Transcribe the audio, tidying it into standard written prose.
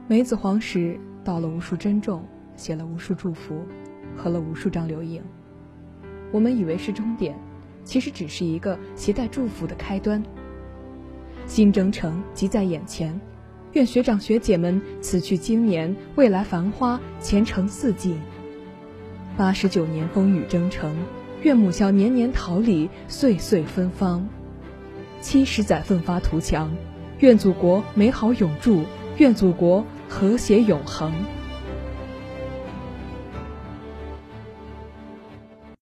梅子黄时倒了无数珍重，写了无数祝福，合了无数张留影。我们以为是终点，其实只是一个携带祝福的开端。新征程即在眼前，愿学长学姐们此去经年，未来繁花，前程似锦。89年风雨征程，愿母校年年桃李，岁岁芬芳。70载奋发图强，愿祖国美好永驻，愿祖国和谐永恒。